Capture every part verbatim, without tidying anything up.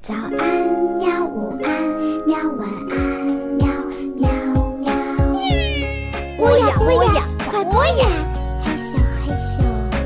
早安喵，午安喵，晚安喵喵喵。 播呀播呀，快播呀！ 害羞害羞。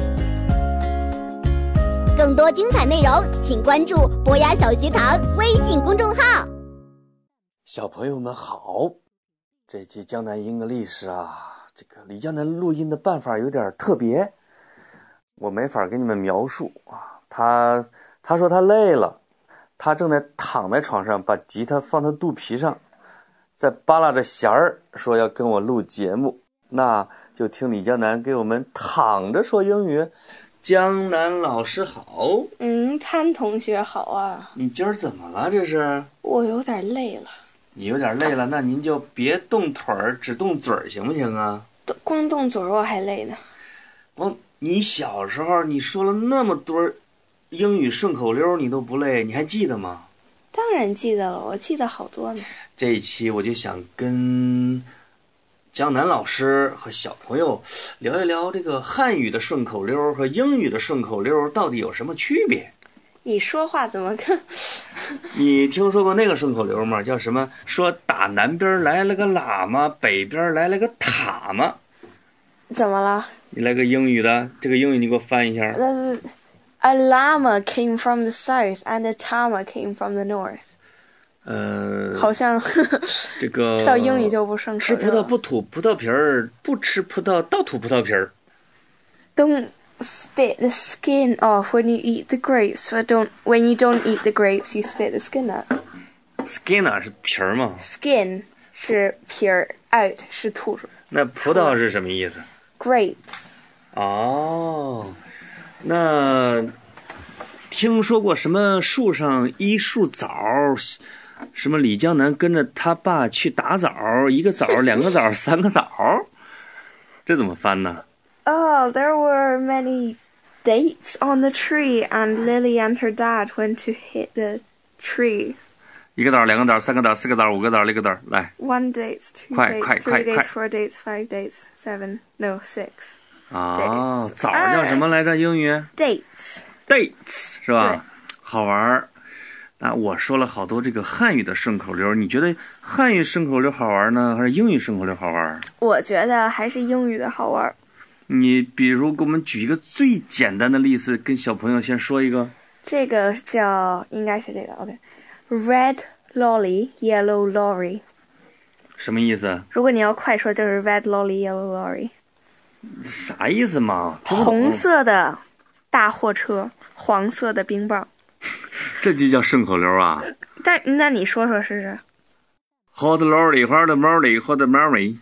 更多精彩内容，请关注博雅小学堂微信公众号。 小朋友们好，这期江南 English 啊，这个李江南录音的办法有点特别，我没法给你们描述啊。他他说他累了，他正在躺在床上，把吉他放他肚皮上，在扒拉着弦儿，说要跟我录节目。那就听李江南给我们躺着说英语。江南老师好。 嗯，潘同学好啊。 你今儿怎么了？这是？ 我有点累了。 你有点累了，那您就别动腿儿，只动嘴儿，行不行啊？ 光动嘴儿我还累呢。 哦，你小时候你说了那么多英语顺口溜，你都不累，你还记得吗？ 当然记得了，我记得好多呢。 这一期我就想跟江南老师和小朋友聊一聊这个汉语的顺口溜和英语的顺口溜到底有什么区别。 你说话怎么跟你听说过那个顺口溜吗？叫什么？说打南边来了个喇嘛，北边来了个塔嘛。 怎么了？ 你来个英语的，这个英语你给我翻一下。 uh, A llama came from the south and a tama came from the north。 呃， 好像这个到英语就不顺口溜了。 吃葡萄不吐葡萄皮儿，不吃葡萄倒吐葡萄皮儿。 Don't spit the skin off when you eat the grapes, but don't when you don't eat the grapes, you spit the skin out. Skin 啊是皮儿吗 ？Skin 是皮儿 ，out 是吐出来。 那葡萄是什么意思 ？Grapes。 哦，那听说过什么树上一树枣，什么李江南跟着他爸去打枣，一个枣两个枣三个枣，这怎么翻呢？ Oh, there were many dates on the tree, and Lily and her dad went to hit the tree. 一个枣两个枣三个枣四个枣五个枣六个枣，来 One dates, two 快 dates, 快 three 快 dates, 快 four dates, five dates, seven, no, six. 啊，枣叫什么来着？英语 Dates. dates 是吧？ 对， 好玩。那我说了好多这个汉语的顺口溜，你觉得汉语顺口溜好玩呢，还是英语顺口溜好玩？ 我觉得还是英语的好玩。 你比如给我们举一个最简单的例子，跟小朋友先说一个。 这个叫应该是这个 OK。Red lolly, yellow lorry。 什么意思？ 如果你要快说，就是 red lolly, yellow lorry。 啥意思嘛？ 红色的大货车，黄色的冰棒。 这就叫顺口溜啊？ 但那你说说试试。 Hot lorry, hot molly, hot Mary。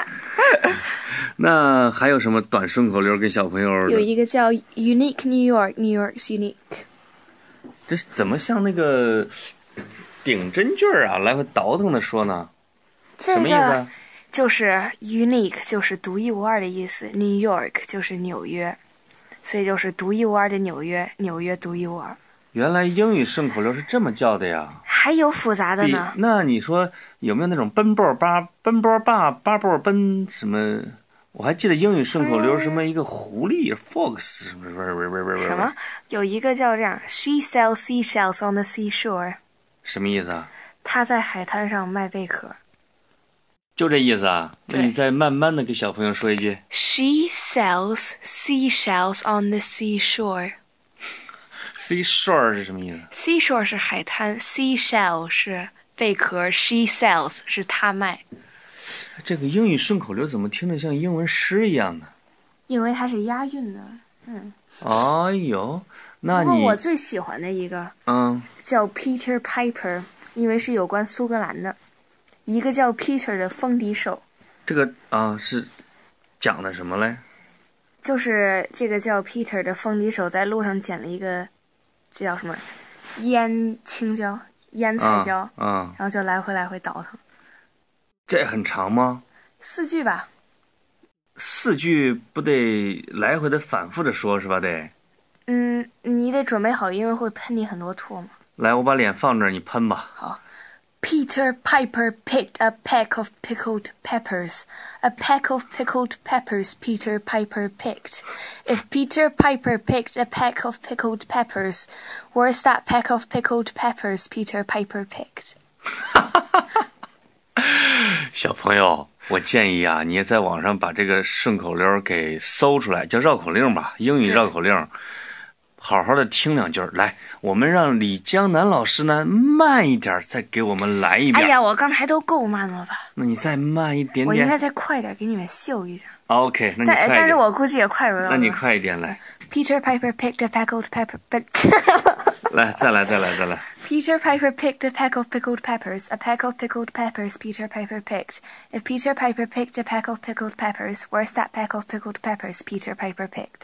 那还有什么短顺口溜跟小朋友？ 有一个叫 Unique New York, New York's unique。 这怎么像那个顶针句啊，来回倒腾的说呢？ 这什么意思啊？ 就是 unique 就是独一无二的意思 ，New York 就是纽约，所以就是独一无二的纽约，纽约独一无二。 原来英语顺口溜是这么叫的呀？ 还有复杂的呢。 那你说有没有那种奔波八奔波八八波奔什么？我还记得英语顺口溜什么一个狐狸 fox 什么什么？有一个叫这样 ，She sells seashells on the seashore。 什么意思啊？ 她在海滩上卖贝壳。 就这意思啊？那你再慢慢的给小朋友说一句。 She sells seashells on the seashore。 Seashore 是什么意思 ？Seashore 是海滩 ，seashell 是贝壳 ，she sells 是她卖。 这个英语顺口溜怎么听着像英文诗一样呢？ 因为它是押韵的。嗯。 哎呦，那你不过我最喜欢的一个， 嗯， 叫 Peter Piper， 因为是有关苏格兰的。一个叫 Peter 的风笛手。 这个啊是讲的什么嘞？ 就是这个叫 Peter 的风笛手在路上捡了一个，这叫什么？烟青椒、烟菜椒， 啊，啊然后就来回来回倒腾。 这很长吗？ 四句吧。 四句不得来回的反复的说是吧？得。 嗯，你得准备好，因为会喷你很多唾沫。 来，我把脸放这儿，你喷吧。 好。 Peter Piper picked a peck of pickled peppers. A peck of pickled peppers Peter Piper picked. If Peter Piper picked a peck of pickled peppers, where's that peck of pickled peppers Peter Piper picked? 小朋友，我建议啊，你也在网上把这个顺口溜给搜出来，叫绕口令吧，英语绕口令。好好的听两句，来，我们让李江南老师呢慢一点，再给我们来一遍。 哎呀，我刚才都够慢了吧？ 那你再慢一点点。 我应该再快点，给你们秀一下。 OK， 那你快一点。 但但是我估计也快不了。 那你快一点来。 Peter Piper picked a pickled pepper, but 来，再来，再来，再来。 Peter Piper picked a peck of pickled peppers. A peck of pickled peppers Peter Piper picked. If Peter Piper picked a peck of pickled peppers, where's that peck of pickled peppers Peter Piper picked?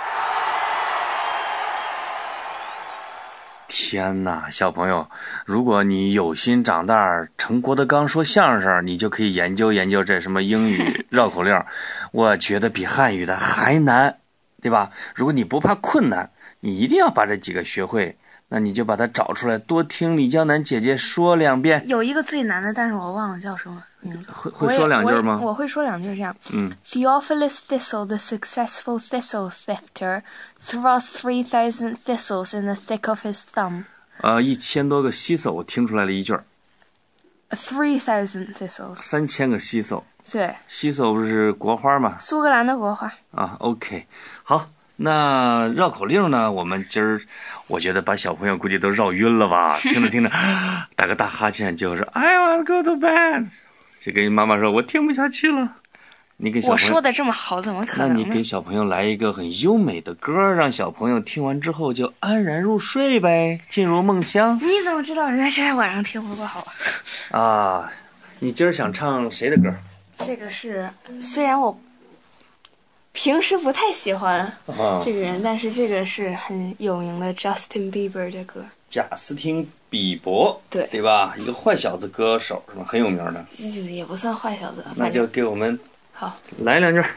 天哪，小朋友，如果你有心长大成郭德纲说相声，你就可以研究研究这什么英语绕口令，我觉得比汉语的还难，对吧？如果你不怕困难，你一定要把这几个学会，那你就把它找出来，多听李江南姐姐说两遍。 有一个最难的，但是我忘了叫什么名字。 会会说两句吗？ 我, 我, 我会说两句，这样。 嗯。 Theophilus Thistle, the successful thistle thifter, thrust three thousand thistles in the thick of his thumb. 呃，一千多个西叟，我听出来了一句。 Three thousand thistles. 三千个西叟。 对。 西叟不是国花吗？ 苏格兰的国花。 啊 ，OK， 好。那绕口令呢？我们今儿我觉得把小朋友估计都绕晕了吧？听着听着，打个大哈欠，就是 I want to go to bed， 就跟妈妈说，我听不下去了。你给小朋友， 我说的这么好，怎么可能呢？ 那你给小朋友来一个很优美的歌，让小朋友听完之后就安然入睡呗，进入梦乡。 你怎么知道人家现在晚上听不够好啊？你今儿想唱谁的歌？ 这个是，虽然我平时不太喜欢这个人，啊、但是这个是很有名的 Justin Bieber 的歌。 贾斯汀比伯，对对吧？一个坏小子歌手是吧？很有名的。 也不算坏小子。 那就给我们好来两句。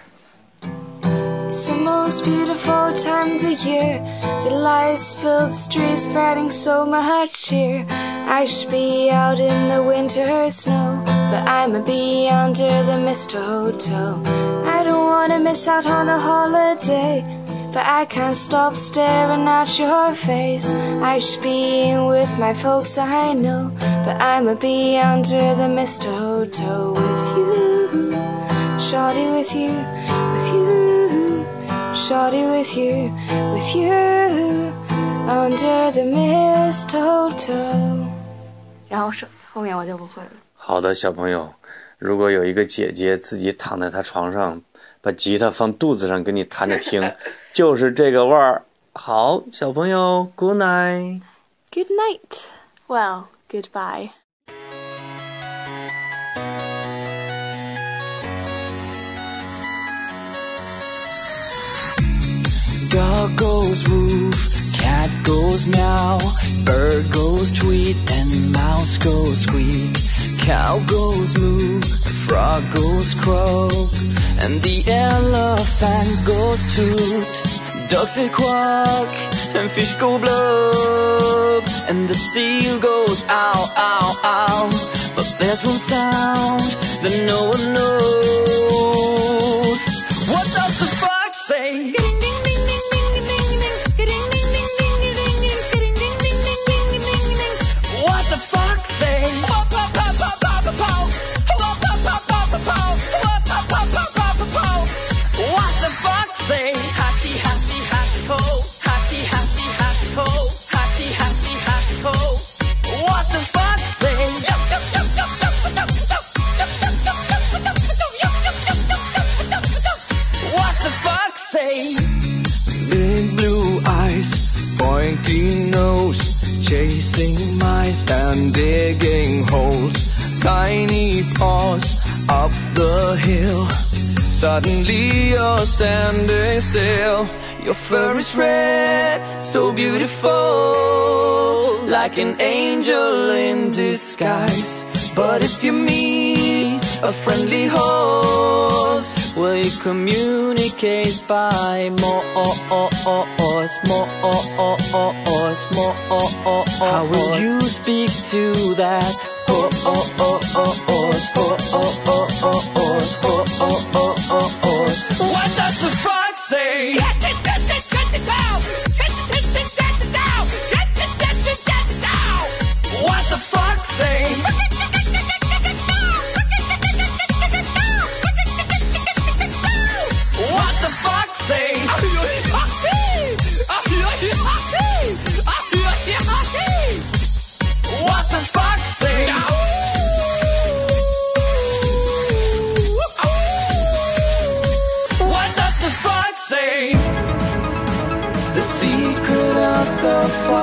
It's the most beautiful time of the year. The lights fill the streets, spreading so much cheer. I should be out in the winter snow, but I'ma be under the mistletoe. I don't wanna miss out on a holiday, but I can't stop staring at your face. I should be with my folks, I know, but I'ma be under the mistletoe with you, shawty with you, with you, shawty with you, with you, under the mistletoe. 然后是后面我就不会了。 好的，小朋友，如果有一个姐姐自己躺在她床上，把吉他放肚子上给你弹着听，就是这个味儿。好，小朋友 ，Good night。 Good night. Well, goodbye. Dog goes woof, cat goes meow, bird goes tweet, and mouse goes squeak. Cow goes moo, frog goes croak, and the elephant goes toot. Ducks say quack, and fish go blub, and the seal goes ow, ow, ow. But there's one sound that no one knows. What does the fox say? What the fox say? What the fox say? Happy, happy, happy ho. Happy, happy, happy ho. Happy, happy, happy ho. What the fox say? What the fox say? Big blue eyes, pointy nose, chasing mice and digging holes. Tiny paws up the hill. Suddenly you're standing still. Your fur is red, so beautiful, like an angel in disguise. But if you meet a friendly horse, will you communicate by more, more, more? How will you speak to that horse? What does the frog say? What the fox say? What the fox say? What the fox say? What does the fox say? The secret of the fox